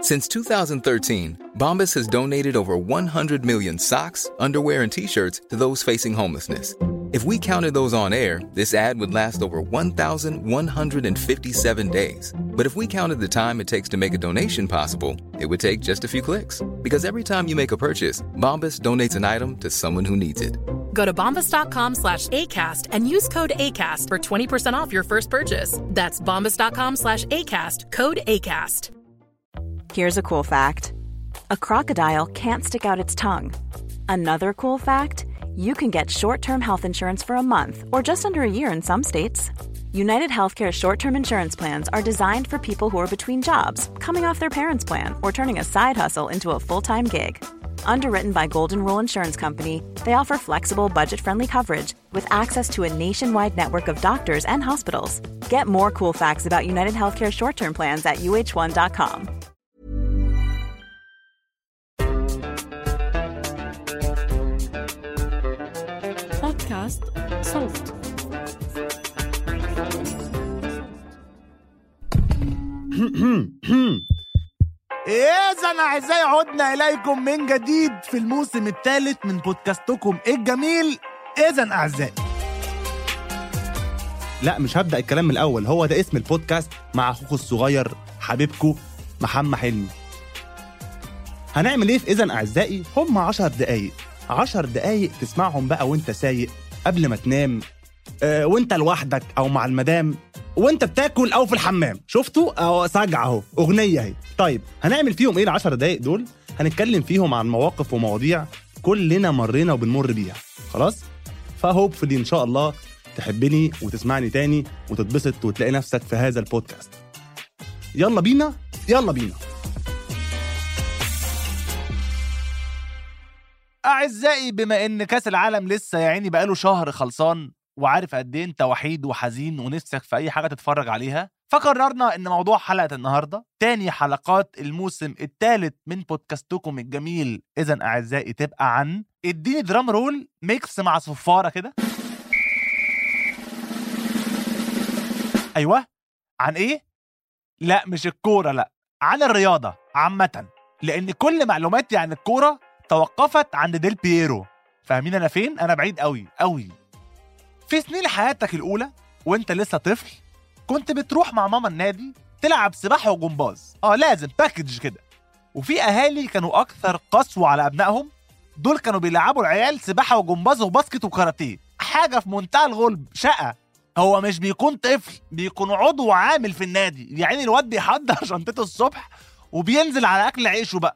Since 2013, Bombas has donated over 100 million socks, underwear, and T-shirts to those facing homelessness. If we counted those on air, this ad would last over 1,157 days. But if we counted the time it takes to make a donation possible, it would take just a few clicks. Because every time you make a purchase, Bombas donates an item to someone who needs it. Go to bombas.com/ACAST and use code ACAST for 20% off your first purchase. That's bombas.com/ACAST, code ACAST. Here's a cool fact. A crocodile can't stick out its tongue. Another cool fact, you can get short-term health insurance for a month or just under a year in some states. United Healthcare short-term insurance plans are designed for people who are between jobs, coming off their parents' plan, or turning a side hustle into a full-time gig. Underwritten by Golden Rule Insurance Company, they offer flexible, budget-friendly coverage with access to a nationwide network of doctors and hospitals. Get more cool facts about United Healthcare short-term plans at uh1.com. بودكاست صوت. إذن أعزائي عدنا إليكم من جديد في الموسم الثالث من بودكاستكم الجميل. إذن أعزائي، لا مش هبدأ الكلام من الأول، هو ده اسم البودكاست مع أخوكم الصغير حبيبكم محمد حلمي. هنعمل إيه في إذن أعزائي؟ هم 10 دقايق تسمعهم بقى وانت سايق، قبل ما تنام، وانت لوحدك أو مع المدام، وانت بتاكل أو في الحمام. شفتوا؟ أو سجع أهو أغنية هي. طيب هنعمل فيهم إيه 10 دقايق دول؟ هنتكلم فيهم عن مواقف ومواضيع كلنا مرينا وبنمر بيها. خلاص؟ فهوبفلي إن شاء الله تحبني وتسمعني تاني وتتبسط وتلاقي نفسك في هذا البودكاست. يلا بينا. أعزائي، بما إن كاس العالم لسه يعني بقاله شهر خلصان، وعارف قد إيه أنت وحيد وحزين ونفسك في أي حاجة تتفرج عليها، فقررنا إن موضوع حلقة النهاردة، تاني حلقات الموسم الثالث من بودكاستكم الجميل إذن أعزائي، تبقى عن اديني درام رول ميكس مع صفارة كده. أيوة، عن إيه؟ لا مش الكورة، لا عن الرياضة عامة، لأن كل معلوماتي عن الكورة توقفت عند ديل بييرو. فاهمين أنا فين؟ أنا بعيد قوي قوي. في سنين حياتك الأولى وانت لسه طفل، كنت بتروح مع ماما النادي تلعب سباحة وجمباز، لازم باكج كده. وفي أهالي كانوا أكثر قسوة على أبنائهم، دول كانوا بيلعبوا العيال سباحة وجمباز وباسكت وكاراتيه، حاجة في منتهى الغلب، شقة. هو مش بيكون طفل، بيكون عضو عامل في النادي، يعني الواد بيحضر شنطته الصبح وبينزل على أكل عيشه بقى،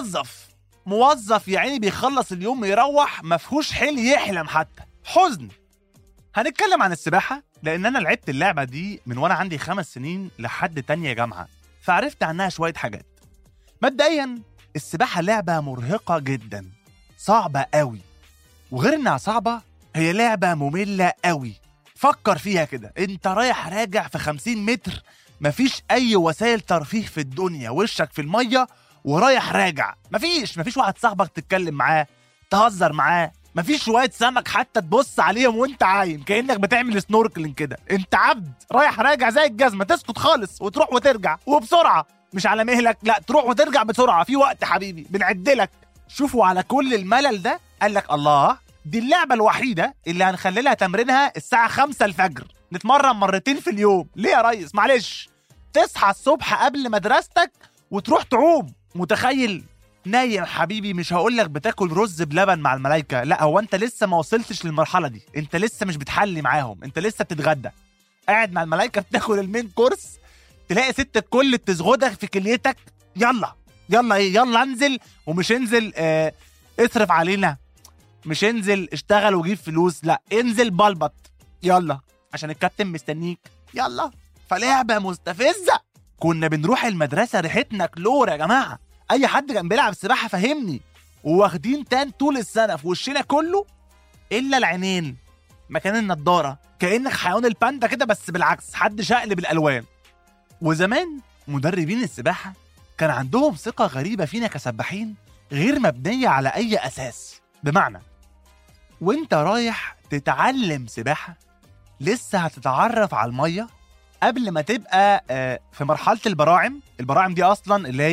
موظف يعني بيخلص اليوم يروح مفهوش حيل يحلم حتى، حزن. هنتكلم عن السباحة لأن أنا لعبت اللعبة دي من وأنا عندي 5 سنين لحد تانية جامعة، فعرفت عنها شوية حاجات. مبدئيا السباحة لعبة مرهقة جدا، صعبة قوي، وغير إنها صعبة هي لعبة مملة قوي. فكر فيها كده، انت رايح راجع في 50 متر، مفيش أي وسائل ترفيه في الدنيا، وشك في المية ورايح راجع، مفيش واحد صاحبك تتكلم معاه تهزر معاه، مفيش شوية سمك حتى تبص عليهم وانت عايم كأنك بتعمل سنوركلينج كده. انت عبد رايح راجع زي الجزمة، تسكت خالص وتروح وترجع وبسرعة، مش على مهلك، لا تروح وترجع بسرعة، في وقت حبيبي بنعدلك. شوفوا على كل الملل ده قالك الله، دي اللعبة الوحيدة اللي هنخلي تمرينها الساعة 5 الفجر، نتمرن 2 مرات في اليوم. ليه يا ريس؟ معلش، تصحى الصبح قبل مدرستك وتروح تعوم. متخيل؟ نايم حبيبي، مش هقولك بتاكل رز بلبن مع الملايكة، لا هو انت لسه ما وصلتش للمرحلة دي، انت لسه مش بتحلي معاهم، انت لسه بتتغدى، قاعد مع الملايكة بتاكل المين كورس، تلاقي ست الكل بتزغدك في كليتك، يلا انزل، ومش انزل اصرف علينا، مش انزل اشتغل وجيب فلوس، لا انزل بلبط، يلا عشان الكابتن مستنيك، يلا. فلعبة مستفزة. كنا بنروح المدرسة ريحتنا كلور يا جماعة، اي حد كان بيلعب سباحة فهمني، وواخدين تان طول السنة في وشنا كله الا العينين مكان النضارة، كأنك حيوان الباندا كده، بس بالعكس، حد شقلب الالوان. وزمان مدربين السباحة كان عندهم ثقة غريبة فينا كسباحين، غير مبنية على اي اساس. بمعنى وانت رايح تتعلم سباحة لسه هتتعرف على المية قبل ما تبقى في مرحلة البراعم دي أصلا اللي هي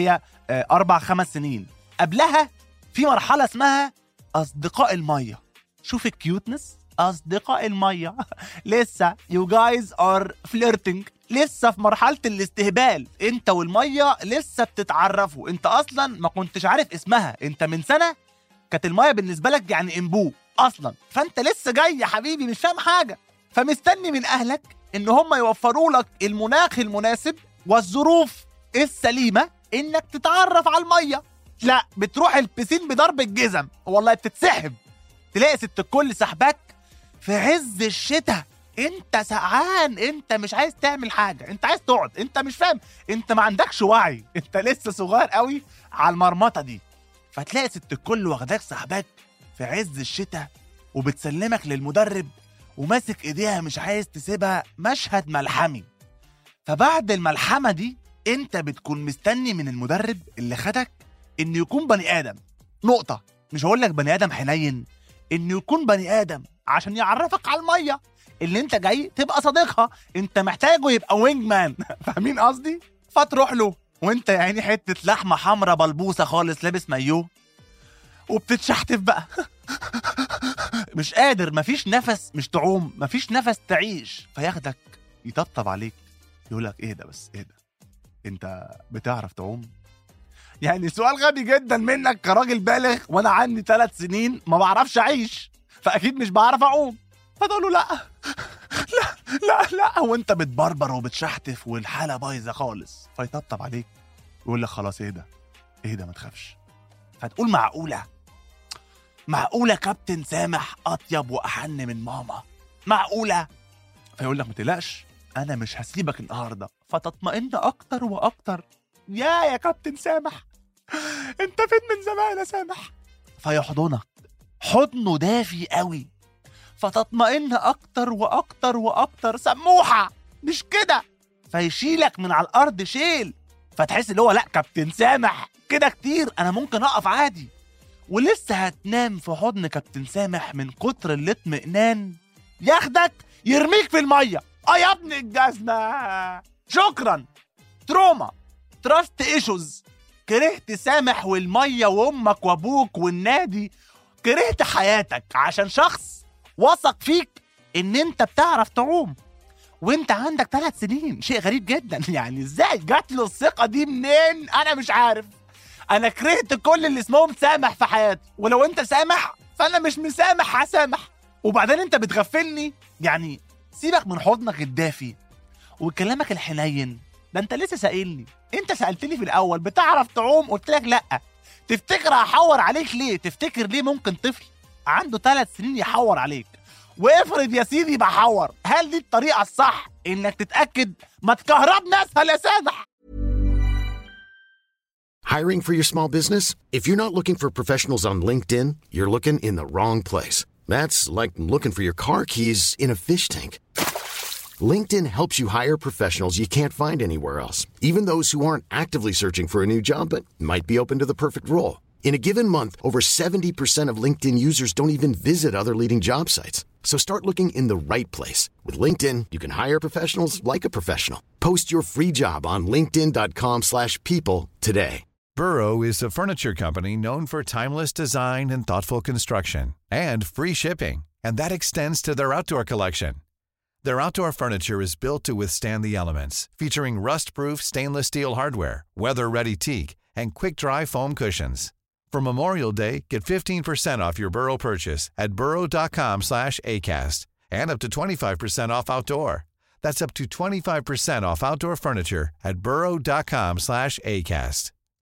4-5 سنين. قبلها في مرحلة اسمها أصدقاء المية. شوف الكيوتنس، أصدقاء المية. لسه you guys are flirting، لسه في مرحلة الاستهبال، انت والمية لسه بتتعرفوا. انت اصلا ما كنتش عارف اسمها، انت من سنة كانت المية بالنسبة لك يعني انبوه اصلا، فانت لسه جاي يا حبيبي مش فاهم حاجة، فمستني من اهلك ان هم يوفروا لك المناخ المناسب والظروف السليمة انك تتعرف على المية. لا، بتروح البسين بضرب الجزم، والله بتتسحب، تلاقي ست الكل سحبك في عز الشتاء، انت سقعان، انت مش عايز تعمل حاجة، انت عايز تقعد، انت مش فاهم، انت ما عندكش وعي، انت لسه صغير قوي على المرمطة دي. فتلاقي ست الكل واخداك سحبك في عز الشتاء وبتسلمك للمدرب وماسك ايديها مش عايز تسيبها، مشهد ملحمي. فبعد الملحمة دي انت بتكون مستني من المدرب اللي خدك انه يكون بني ادم، نقطة. مش هقول لك بني ادم حنين، انه يكون بني ادم عشان يعرفك على المية اللي انت جاي تبقى صديقها، انت محتاجه يبقى وينج مان. فاهمين قصدي؟ فتروح له وانت يا عيني حتة لحمة حمرا بلبوسة خالص، لابس مايوه وبتتشحتف بقى. مش قادر، مفيش نفس، مش تعوم، مفيش نفس تعيش. فياخدك يطبطب عليك يقولك اهدى بس اهدى، انت بتعرف تعوم؟ يعني سؤال غبي جدا منك كراجل بالغ، وانا عندي 3 سنين ما بعرفش اعيش، فاكيد مش بعرف اعوم. فتقول له لا لا لا لا، وانت بتبربر وبتشحتف والحاله بايظه خالص. فيطبطب عليك ويقول لك خلاص اهدى اهدى ما تخافش. فتقول معقوله كابتن سامح اطيب واحن من ماما؟ معقوله؟ فيقول لك ما تقلقش، انا مش هسيبك النهارده. فتطمئن اكتر واكتر. يا كابتن سامح، انت فين من زمان يا سامح؟ فيحضنك حضنه دافي قوي، فتطمئن اكتر واكتر واكتر. سموحه مش كده؟ فيشيلك من على الارض شيل، فتحس اللي هو لا كابتن سامح كده كتير، انا ممكن اقف عادي. ولسه هتنام في حضن كابتن سامح من كتر الاطمئنان، ياخدك يرميك في الميه. يا ابن الجزمه، شكرا. تروما، تراست ايشوز، كرهت سامح والميه وامك وابوك والنادي، كرهت حياتك عشان شخص وثق فيك ان انت بتعرف تعوم وانت عندك 3 سنين. شيء غريب جدا، يعني ازاي جات له الثقه دي منين؟ انا مش عارف. انا كرهت كل اللي اسمهم سامح في حياتي، ولو انت سامح فانا مش مسامح هسامح. وبعدين انت بتغفلني، يعني سيبك من حضنك الدافي وكلامك الحنين ده، انت لسه سائلني. انت سألتني في الاول بتعرف تعوم، قلت لك لا. تفتكر هحور عليك ليه؟ تفتكر ليه ممكن طفل عنده 3 سنين يحور عليك؟ وافرض يا سيدي بحور، هل دي الطريقة الصح انك تتأكد؟ ما تكهربنا اسهل يا سامح. Hiring for your small business? If you're not looking for professionals on LinkedIn, you're looking in the wrong place. That's like looking for your car keys in a fish tank. LinkedIn helps you hire professionals you can't find anywhere else, even those who aren't actively searching for a new job but might be open to the perfect role. In a given month, over 70% of LinkedIn users don't even visit other leading job sites. So start looking in the right place. With LinkedIn, you can hire professionals like a professional. Post your free job on linkedin.com/people today. Burrow is a furniture company known for timeless design and thoughtful construction and free shipping, and that extends to their outdoor collection. Their outdoor furniture is built to withstand the elements, featuring rust-proof stainless steel hardware, weather-ready teak, and quick-dry foam cushions. For Memorial Day, get 15% off your Burrow purchase at burrow.com/acast, and up to 25% off outdoor. That's up to 25% off outdoor furniture at burrow.com/acast.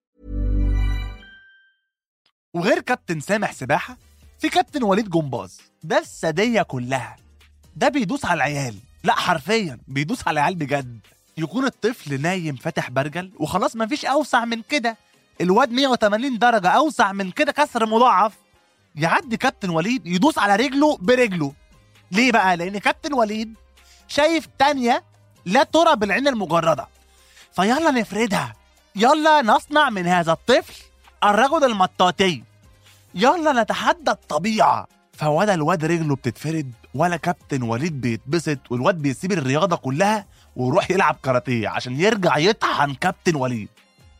وغير كابتن سامح سباحة، في كابتن وليد جمباز، ده السادية كلها. ده بيدوس على العيال، لا حرفيا بيدوس على العيال بجد. يكون الطفل نايم فاتح برجل وخلاص مفيش أوسع من كده، الواد 180 درجة أوسع من كده كسر مضاعف، يعدي كابتن وليد يدوس على رجله برجله. ليه بقى؟ لأن كابتن وليد شايف تانية لا ترى بالعين المجردة. فيلا نفردها، يلا نصنع من هذا الطفل الرجل المطاطي، يلا نتحدى الطبيعة. فولا الواد رجله بتتفرد ولا كابتن وليد بيتبسط، والواد بيسيب الرياضة كلها ويروح يلعب كاراتيه عشان يرجع يطحن كابتن وليد.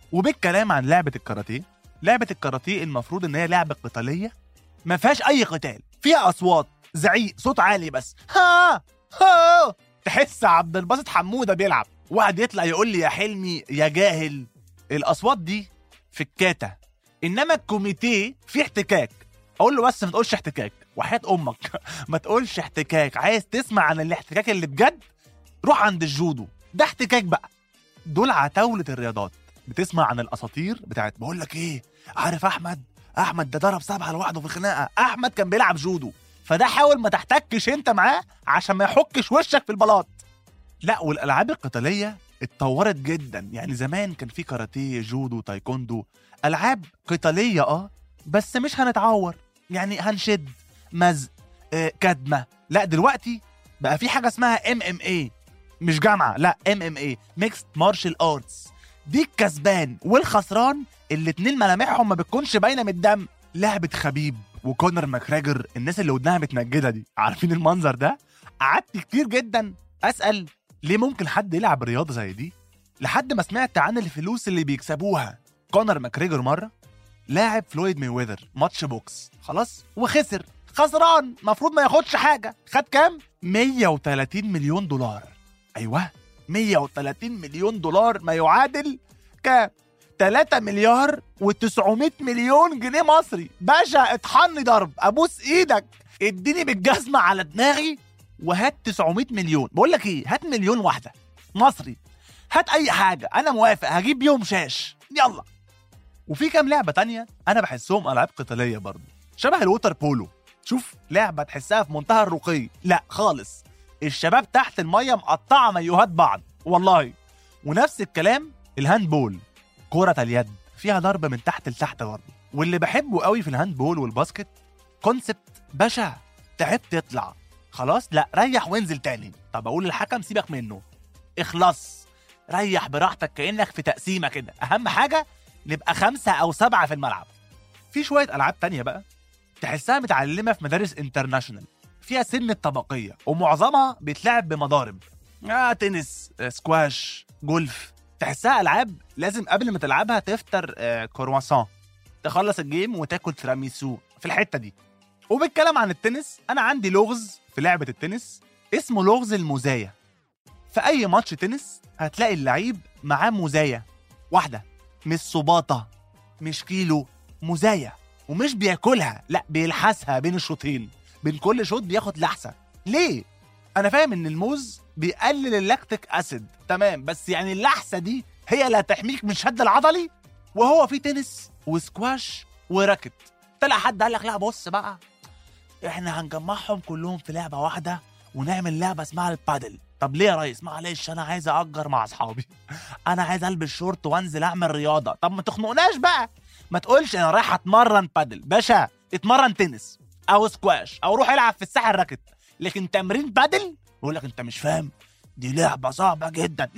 وبالكلام عن لعبة الكاراتيه، لعبة الكاراتيه المفروض ان هي لعبة قتالية ما فيهاش اي قتال، فيها اصوات، زعيق، صوت عالي بس، ها ها، تحس عبد الباسط حمودة بيلعب، واحد يطلع يقول لي يا حلمي يا جاهل. الاصوات دي في الكاتا، انما الكوميتيه في احتكاك. اقول له بس ما تقولش احتكاك وحياة امك ما تقولش احتكاك. عايز تسمع عن الاحتكاك اللي بجد، روح عند الجودو، ده احتكاك بقى. دول عتاولة الرياضات. بتسمع عن الاساطير بتاعت بقول لك ايه، عارف احمد ده ضرب 7 لوحده في الخناقه، احمد كان بيلعب جودو، فده حاول ما تحتكش انت معاه عشان ما يحكش وشك في البلاط. لا، والالعاب القتاليه اتطورت جدا. يعني زمان كان في كاراتيه، جودو، تايكوندو، العاب قتاليه بس مش هنتعور، يعني هنشد مزق كدمه. لا دلوقتي بقى في حاجه اسمها MMA، مش جامعه، لا MMA ميكست مارشال ارتس. دي الكسبان والخسران الاتنين ملامحهم ما بتكونش باينه من الدم. لعبه خبيب وكونر ماكريجر، الناس اللي ودنها متنجده دي، عارفين المنظر ده؟ قعدت كتير جدا اسال ليه ممكن حد يلعب رياضه زي دي، لحد ما سمعت عن الفلوس اللي بيكسبوها. كونر ماكريجر مره لاعب فلويد مايويذر ماتش بوكس، خلاص وخسر، خسران، مفروض ما ياخدش حاجه. خد كام؟ 130 مليون دولار. ايوه 130 مليون دولار، ما يعادل كام؟ 3 مليار و900 مليون جنيه مصري. باشا اطحني ضرب، ابوس ايدك، اديني بالجزمه على دماغي وهات 900 مليون. بقول لك ايه، هات مليون واحده مصري، هات اي حاجه، انا موافق، هجيب يوم شاش، يلا. وفي كام لعبه تانية انا بحسهم العاب قتاليه برضه، شبه الووتر بولو. شوف لعبه تحسها في منتهى الرقي، لا خالص، الشباب تحت الميه مقطعه مايوهات بعض والله. ونفس الكلام الهاندبول، كرة اليد، فيها ضرب من تحت لتحت برضه. واللي بحبه قوي في الهاندبول والباسكت كونسبت، باشا تعبت اطلع خلاص، لا ريح وانزل تاني. طب اقول للحكم سيبك منه، اخلص، ريح براحتك كأنك في تقسيمة كده، اهم حاجة نبقى 5 أو 7 في الملعب. في شوية ألعاب تانية بقى تحسها متعلمة في مدارس انترناشنال، فيها سن الطبقية ومعظمها بيتلعب بمضارب، تنس، سكواش، جولف. تحسها ألعاب لازم قبل ما تلعبها تفطر كرواسون، تخلص الجيم وتاكل تيراميسو في الحتة دي. وبالكلام عن التنس، أنا عندي لغز في لعبة التنس اسمه لغز المزايا. في أي ماتش تنس هتلاقي اللعيب معاه مزايا واحدة، مش صباطة، مش كيلو، مزايا، ومش بياكلها، لا بيلحسها بين الشوطين، بين كل شوط بياخد لحسة. ليه؟ أنا فاهم إن الموز بيقلل اللاكتيك أسيد، تمام، بس يعني اللحسة دي هي اللي هتحميك من الشد العضلي. وهو في تنس وسكواش وراكت. طلع حد قال لك لا بص بقى، احنا هنجمعهم كلهم في لعبة واحدة ونعمل لعبة اسمها البادل. طب ليه يا ريس؟ معلش انا عايز اجر مع اصحابي، انا عايز البس شورت وانزل اعمل رياضة. طب ما تخنقناش بقى، ما تقولش انا رايح اتمرن بادل. باشا اتمرن تنس او سكواش او روح العب في الساحة الراكت، لكن تمرين بادل يقول لك انت مش فاهم، دي لعبة صعبة جدا.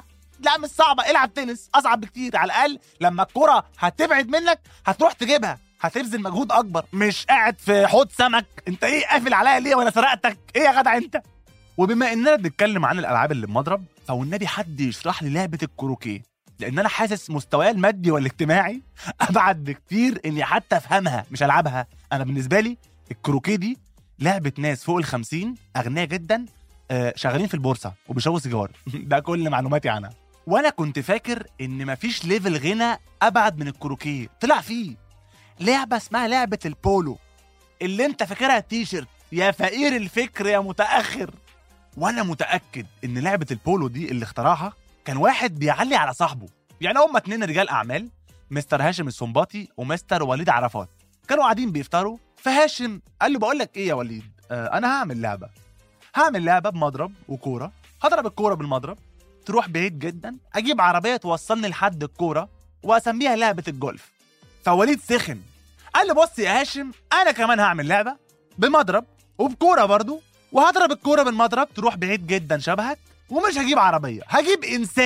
لا مش صعبة، العب تنس، اصعب بكتير. على الاقل لما الكرة هتبعد منك هتروح تجيبها، هتبذل مجهود اكبر، مش قاعد في حوض سمك. انت ايه قافل عليا ليه وانا سرقتك؟ ايه يا جدع انت؟ وبما اننا بنتكلم عن الالعاب اللي بمضرب، فوالنبي حد يشرح لي لعبة الكروكيه، لان انا حاسس مستواي المادي والاجتماعي ابعد بكتير اني حتى افهمها مش العبها. انا بالنسبة لي الكروكيه دي لعبة ناس فوق ال50 اغنياء جدا، شغالين في البورصة وبيشربوا سيجار ده كل معلوماتي عنها. وانا كنت فاكر ان مفيش ليفل غنى ابعد من الكروكيه، طلع فيه لعبة اسمها لعبة البولو، اللي انت فاكرها تيشيرت. يا فقير الفكر يا متأخر. وانا متأكد ان لعبة البولو دي اللي اخترعها كان واحد بيعلي على صاحبه. يعني هما 2 رجال اعمال، مستر هاشم السنباطي ومستر وليد عرفات، كانوا قاعدين بيفطروا. فهاشم قال له بقول لك ايه يا وليد، انا هعمل لعبة بمضرب وكورة، هضرب الكورة بالمضرب تروح بعيد جدا، اجيب عربية توصلني لحد الكورة واسميها لعبة الجولف. فوليد سخن قال له بص يا هاشم، انا كمان هعمل لعبة بمضرب وبكورة برضو، وهضرب الكورة بالمضرب تروح بعيد جدا شبهك، ومش هجيب عربية، هجيب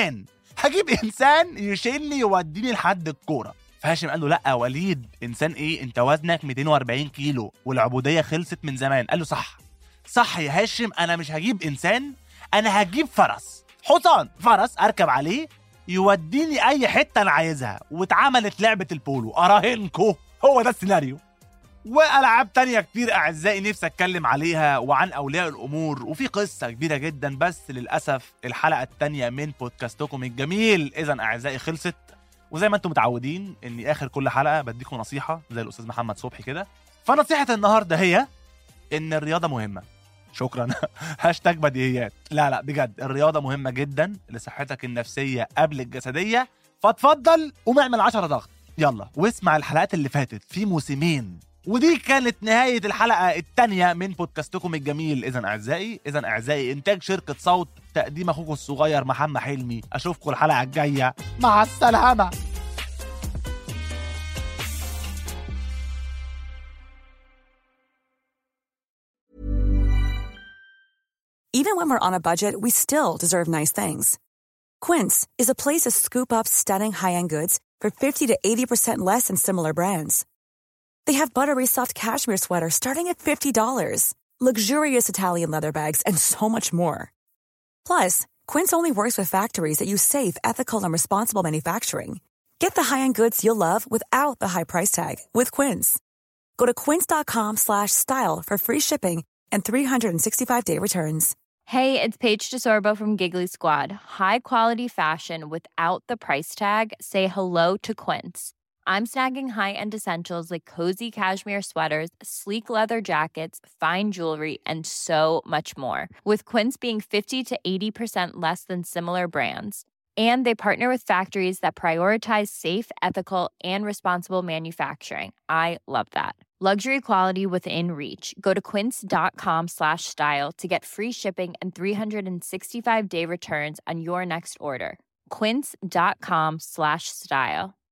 انسان يشيلني يوديني لحد الكورة. فهاشم قال له لا يا وليد، انسان ايه، انت وزنك 240 كيلو والعبودية خلصت من زمان. قال له صح يا هاشم، انا مش هجيب انسان، انا هجيب فرس، حصان، فرس اركب عليه يوديني اي حته انا عايزها، واتعملت لعبه البولو. اراهنكو هو ده السيناريو. والعاب تانية كتير اعزائي نفسي اتكلم عليها، وعن اولياء الامور، وفي قصه كبيره جدا، بس للاسف الحلقه التانية من بودكاستكم الجميل اذا اعزائي خلصت. وزي ما انتم متعودين اني اخر كل حلقه بديكم نصيحه زي الاستاذ محمد صبحي كده. فنصيحه النهارده هي ان الرياضه مهمه. شكرا. هاشتاج بديهيات. لا بجد الرياضه مهمه جدا لصحتك النفسيه قبل الجسديه. فتفضل قوم اعمل 10 ضغط يلا، واسمع الحلقات اللي فاتت في موسمين. ودي كانت نهايه الحلقه الثانيه من بودكاستكم الجميل اذا اعزائي انتاج شركه صوت، تقديم اخوكم الصغير محمد حلمي. اشوفكم الحلقه الجايه، مع السلامه. Even when we're on a budget, we still deserve nice things. Quince is a place to scoop up stunning high-end goods for 50 to 80% less than similar brands. They have buttery soft cashmere sweaters starting at $50, luxurious Italian leather bags, and so much more. Plus, Quince only works with factories that use safe, ethical, and responsible manufacturing. Get the high-end goods you'll love without the high price tag with Quince. Go to quince.com/style for free shipping and 365-day returns. Hey, it's Paige DeSorbo from Giggly Squad. High quality fashion without the price tag. Say hello to Quince. I'm snagging high-end essentials like cozy cashmere sweaters, sleek leather jackets, fine jewelry, and so much more. With Quince being 50 to 80% less than similar brands. And they partner with factories that prioritize safe, ethical, and responsible manufacturing. I love that. Luxury quality within reach. Go to quince.com/style to get free shipping and 365-day returns on your next order. Quince.com/style.